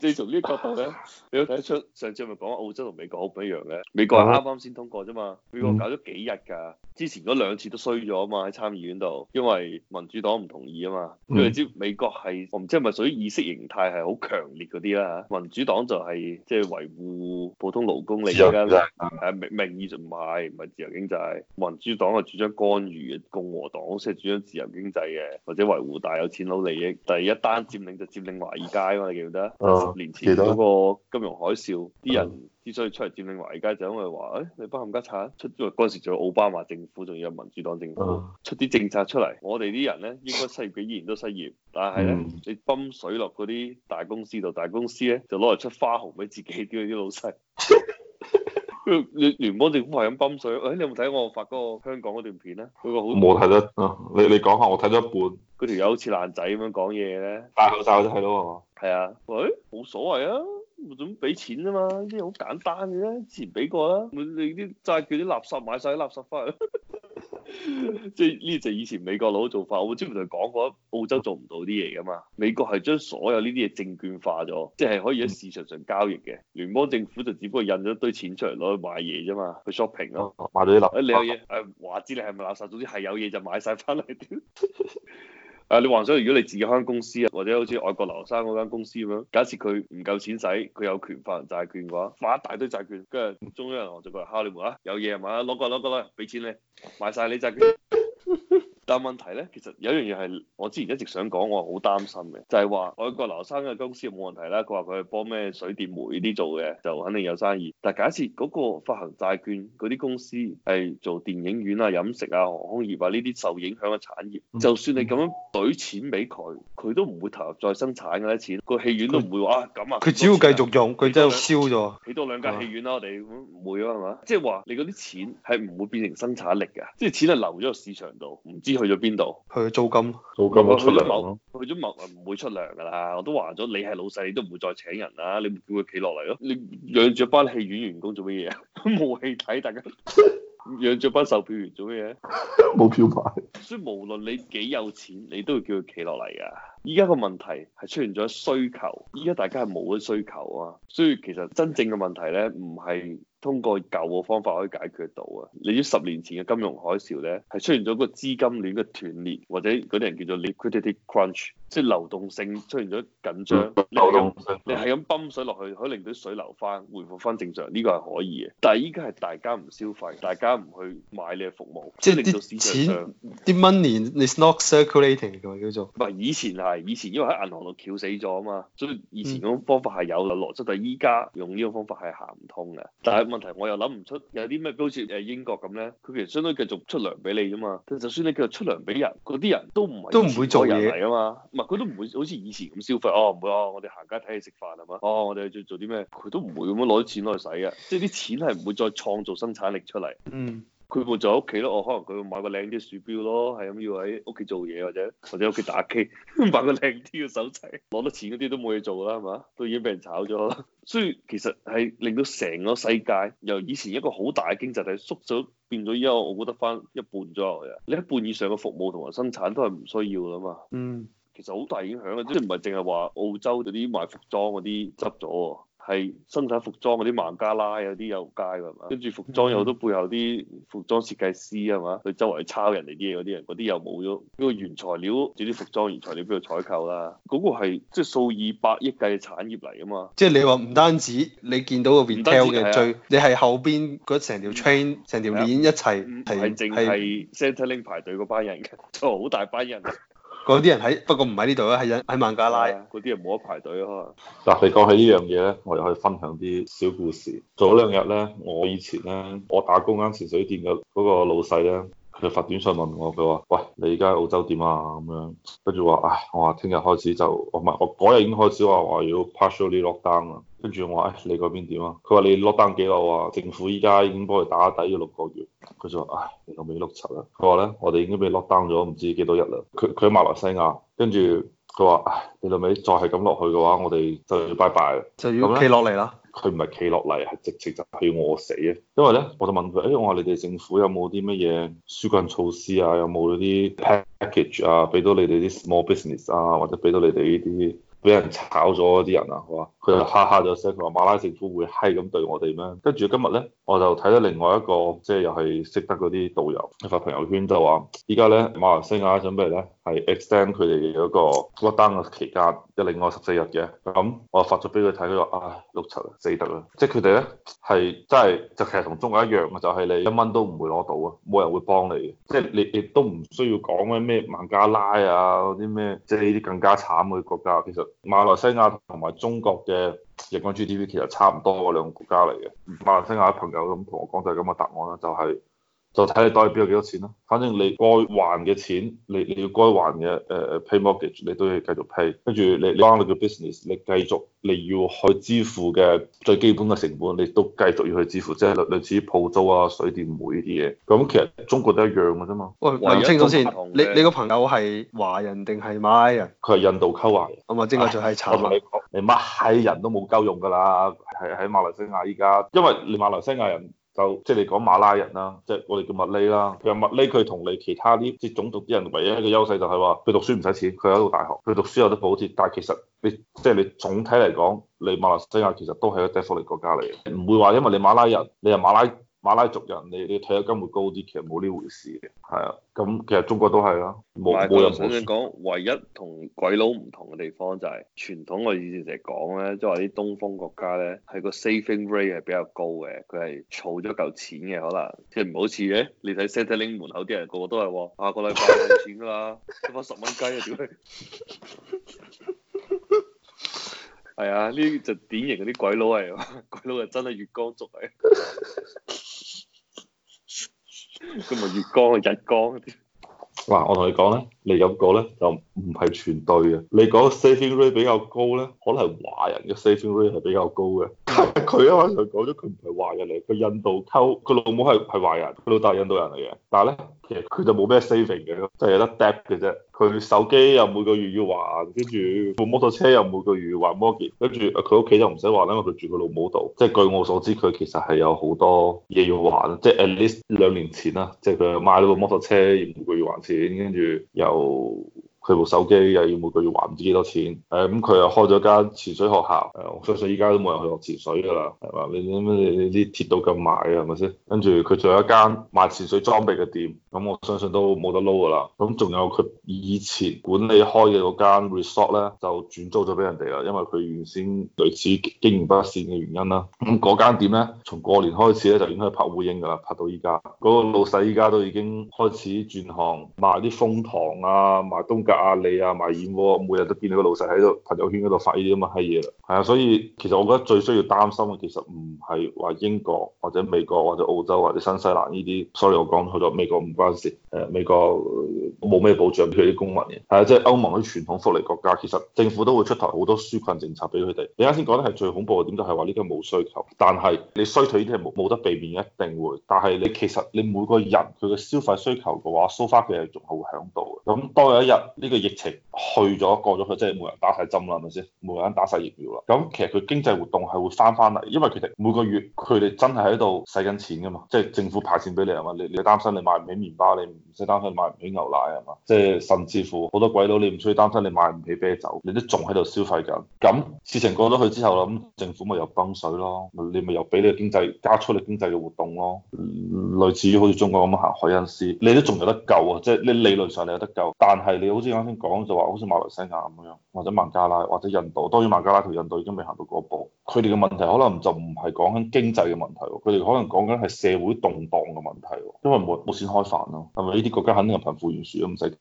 你從呢個角度咧，你都睇得出上次咪講澳洲同美國好唔一樣嘅。美國係啱啱先通過啫嘛，美國搞咗幾日㗎，之前嗰2次都衰咗啊嘛，喺參議院度，因為民主黨唔同意啊嘛。因為你知美國係我唔知係咪屬於意識形態係好強烈嗰啲啦，民主黨就係即係維護普通勞工利益啦，係名義就唔係自由經濟，民主黨係主張干預嘅，共和黨先係主張自由經濟嘅，或者維護大有錢佬利益。第一單佔領就佔領華爾街啊嘛，你記唔記得？10年前嗰個金融海嘯，啲人之所以出嚟佔領華爾街，就因為話，你班冚家鏟出，因為嗰陣時仲有奧巴馬政府，仲有民主黨政府出啲政策出嚟，我哋啲人咧應該失業嘅依然都失業，但係咧你泵水落嗰啲大公司度，大公司咧就攞嚟出花紅俾自己啲老細。聯邦政府係咁泵水，你有冇睇我發嗰個香港嗰段片咧？嗰個好冇睇得，你講下，我睇咗一半。 嗰條友好似爛仔咁樣講嘢咧， 戴口罩都睇到啊！ 係啊，冇所謂啊，總俾錢啫嘛，呢啲好簡單嘅啫，之前俾過啦，你啲債券啲垃圾買晒啲垃圾翻嚟。即係呢就以前美國佬做法，我之前同佢講過，澳洲做唔到啲嘢噶嘛。美國係將所有呢啲嘢證券化咗，即係可以喺市場上交易嘅。聯邦政府就只不過印咗一堆錢出嚟攞去買嘢啫嘛，去 shopping 咯， 買咗啲垃圾。 你有嘢話知你係咪垃圾，總之係有嘢就買晒翻嚟。你幻想如果你自己開間公司啊，或者好似外國留學生嗰間公司咁樣，假設佢唔夠錢使，佢有權發行債券嘅話，發一大堆債券，跟住中央銀行就過嚟敲你門啊，有嘢係嘛，攞過嚟，俾錢你買晒你債券。但問題咧，其實有一樣嘢係我之前一直想講，我好擔心嘅，就係話外國留學生嘅公司冇問題啦，佢話佢係幫咩水電煤啲做嘅，就肯定有生意。但係假設嗰個發行債券嗰啲公司係做電影院啊、飲食啊、航空業啊呢啲受影響嘅產業，就算你咁樣懟錢俾佢，佢都唔會投入再生產嘅啲錢，個戲院都唔會話咁啊。 佢只要繼續用，佢真係燒咗。 起多2間戲院啦，我哋唔會啊，係嘛？即係話你嗰啲錢係唔會變成生產力嘅，即係錢係流咗個市場度，唔知去咗邊度？ 去租金， 租金都出糧咯。 去咗某唔會出糧㗎啦，我都話咗，你係老細，你都唔會再請人啦，你叫佢企落嚟咯。你養住一班戲院員工做乜嘢啊？冇戲睇，大家養住班售票員做乜嘢？ 冇票牌。 所以無論你幾有錢，你都要叫佢企落嚟㗎。依家個問題係出現咗需求，依家大家係冇咗需求啊，所以其實真正嘅問題咧，唔係通過舊嘅方法可以解決得到啊！你知10年前嘅金融海嘯咧，係出現咗個資金鏈嘅斷裂，或者嗰啲人叫做 liquidity crunch，即係流動性出現咗緊張。你係咁泵水落去，可以令到水流翻，回復翻正常，呢個係可以嘅。但係依家係大家唔消費，大家唔去買你嘅服務， 即係令到市場上啲 money is not circulating 嘅叫做。 唔係以前因為喺銀行度翹死咗啊嘛，所以以前嗰種方法係有邏輯，但係依家用呢個方法係行唔通嘅。但係問題我又諗唔出有啲咩，好似英國咁咧，佢其實相當於繼續出糧俾你啫嘛。就算你繼續出糧俾人，嗰啲人都唔會做嘢嚟啊嘛。唔係佢都唔會好似以前咁消費。唔會我哋行街睇戲食飯係嘛？我哋做啲咩？佢都唔會咁樣攞啲錢攞去使嘅。即係啲錢係唔會再創造生產力出嚟。佢會就喺屋企咯，可能佢會買個靚啲鼠標咯，係咁要喺屋企做嘢或者屋企打機，買個靚啲嘅手掣，攞得錢嗰啲都冇嘢做啦，係嘛？都已經俾人炒咗啦。所以其實係令到成個世界由以前一個好大嘅經濟體縮咗，變咗依家我覺得翻一半左右嘅。你一半以上嘅服務同埋生產都係唔需要啦嘛。其實好大影響嘅，即係唔係淨係話澳洲嗰啲賣服裝嗰啲執咗。係生產服裝嗰啲孟加拉有啲有街㗎嘛，跟住服裝有好多背後啲服裝設計師係嘛，佢周圍抄人哋啲嘢嗰啲人，嗰啲又冇咗，嗰個原材料，啲服裝原材料邊度採購啦？嗰個係即係數以百億計嘅產業嚟㗎嘛。 即係你話唔單止你見到個 retail 嘅最，你係後邊嗰成條 train 成條鏈一齊係淨係 Centrelink 排隊嗰班人嘅，就好大班人。 嗰啲人不過唔喺呢度啦，喺孟加拉。 嗰啲人冇得排隊啊，可能。 嗱，你講起呢樣嘢咧，我又可以分享啲小故事。早2日咧，我以前咧，我打工間潛水店嘅嗰個老細咧，佢就發短信問我，佢話：喂，你而家喺澳洲點啊？咁樣，跟住話：我話聽日開始就，我嗰日已經開始話要 partially lock down 啦。跟住我話：你嗰邊點啊？佢話：你 lock down 幾耐啊？政府依家已經幫佢打底咗6個月。佢就話：你老味碌柒啦！佢話咧，我哋已經俾 lock down 咗唔知幾多日啦。佢喺馬來西亞，跟住佢話：你老味再係咁落去嘅話，我哋就要拜拜啦， 就要企落嚟啦。 佢唔係企落嚟，係直情就係要餓死啊！因為咧，我就問佢：我話你哋政府有冇啲乜嘢紓困措施啊？有冇嗰啲 package 啊？俾到你哋啲 small business 啊，或者俾到你哋呢啲俾人炒咗嗰啲人啊，係嘛？佢就哈哈咗聲，佢話馬拉政府會閪咁對我哋咩？跟住今日咧，我就睇到另外一個即係又係識得嗰啲導遊發朋友圈就話，依家咧馬來西亞準備咧係 extend 佢哋嗰個 lockdown 嘅期間，即另外14日嘅。咁我發咗俾佢睇，佢話唉碌柒啊，死得啦！即係佢哋咧係真係就其實同中國一樣嘅，就係你1蚊都唔會攞到啊，冇人會幫你嘅，即係你亦都唔需要講咩孟加拉啊嗰啲咩，即係呢啲更加慘嘅國家。其實馬來西亞同埋中國嘅人均 GDP 其實差唔多嗰兩個國家嚟嘅。馬來西亞嘅朋友咁同我講就係咁嘅答案啦，就睇你袋入邊有幾多錢咯。反正你該還嘅錢，你要該還嘅pay mortgage，你都要繼續 pay。跟住你幫你嘅 business，你繼續你要去支付嘅最基本嘅成本，你都繼續要去支付，即係類似於鋪租啊、水電煤呢啲嘢。咁其實中國都一樣嘅啫嘛。 喂，問清楚先，你個朋友係華人定係馬拉人？ 佢係印度溝華人。 咁啊，正係就係慘。 我同你講，你乜閪人都冇鳩用㗎啦，係喺馬來西亞依家，因為你馬來西亞人。就即係你講馬拉人啦，即係我哋叫麥哩啦。其實麥哩佢同你其他啲即係種族啲人唯一一個優勢就係話佢讀書唔使錢，佢喺度大學，佢讀書有得補貼。但係其實你即係你總體嚟講，你馬來西亞其實都係一個低福利國家嚟嘅，唔會話因為你馬拉人，你係馬拉族人，你退休金會高啲，其實冇呢回事嘅。係啊，咁其實中國都係啦，冇人想講，唯一同鬼佬唔同嘅地方就係傳統。我以前成日講咧，即係話啲東方國家咧係個 saving rate 係比較高嘅，佢係儲咗嚿錢嘅，可能即係唔好似嘅。你睇 Centrelink 門口啲人個個都係話下個禮拜冇錢㗎啦，得翻10蚊雞啊，屌你！係啊，呢啲就典型嗰啲鬼佬係，鬼佬係真係月光族嚟。咁咪月光啊，日光啲。 嗱，我同你講咧，你咁講咧就唔係全對嘅。你講 saving rate 比較高咧，可能係華人嘅 saving rate 係比較高嘅。佢一開始講咗佢唔係華人嚟，佢印度溝，佢老母係華人，佢老豆係印度人嚟嘅。但係咧，其實佢就冇咩 saving 嘅，就係有得 debt 嘅啫。佢手機又每個月要還，跟住部摩托車又每個月要還 mortgage，跟住佢屋企就唔使還，因為佢住佢老母度。即係據我所知，佢其實係有好多嘢要還，即係 at least 2年前啦，即係佢買咗部摩托車要每個月還錢，跟住又佢部手機又要每個月還唔知幾多錢。咁佢又開咗間潛水學校，我相信依家都冇人去學潛水㗎啦，係嘛？你啲鐵道咁賣嘅係咪先？跟住佢仲有一間賣潛水裝備嘅店，咁我相信都冇得撈㗎啦。咁仲有佢以前管理開嘅嗰間 resort 咧，就轉租咗俾人哋啦，因為佢原先類似經營不善嘅原因啦。咁嗰間店咧，從過年開始咧就已經係拍烏蠅㗎啦，拍到依家。嗰個老細依家都已經開始轉行賣啲楓糖啊，賣東格亞利啊，賣燕窩，每日都見到個老細喺度朋友圈嗰度發呢啲咁嘅閪嘢啦。係啊，所以其實我覺得最需要擔心嘅其實唔係話英國或者美國或者澳洲或者新西蘭呢啲，sorry 我講錯咗，美國唔關事。美國冇咩保障俾佢啲公民嘅。係啊，即係歐盟啲傳統福利國家，其實政府都會出台好多紓困政策俾佢哋。你啱先講得係最恐怖嘅點，就係話呢個冇需求，但係你衰退呢啲係冇得避免，一定會。但係你其實你每個人佢嘅消費需求嘅話，so far佢係仲係會響度嘅。咁當有一日呢個疫情去咗過咗去，即係冇人打晒針啦，係咪先？冇人打晒疫苗啦。咁其實佢經濟活動係會翻嚟，因為佢哋每個月佢哋真係喺度使緊錢㗎嘛，即係政府派錢俾你係嘛？你擔心你買唔起麵包，你唔使擔心買唔起牛奶係嘛？即係甚至乎好多鬼佬你唔需要擔心你買唔起啤酒，你都仲喺度消費緊。咁事情過咗去之後啦，咁政府咪又崩水咯，你咪又俾你經濟加速你經濟嘅活動咯。類似於好似中國咁行凱恩斯，你都仲有得救啊！即係你理論上你有得救，但係你好似啱先講就話，好似馬來西亞咁樣，或者孟加拉或者印度，當然孟加拉同印度已經未行到嗰步。佢哋嘅問題可能就唔係講緊經濟嘅問題，佢哋可能講緊係社會動盪嘅問題，因為冇錢開飯咯。係咪呢啲國家肯定係貧富懸殊都唔使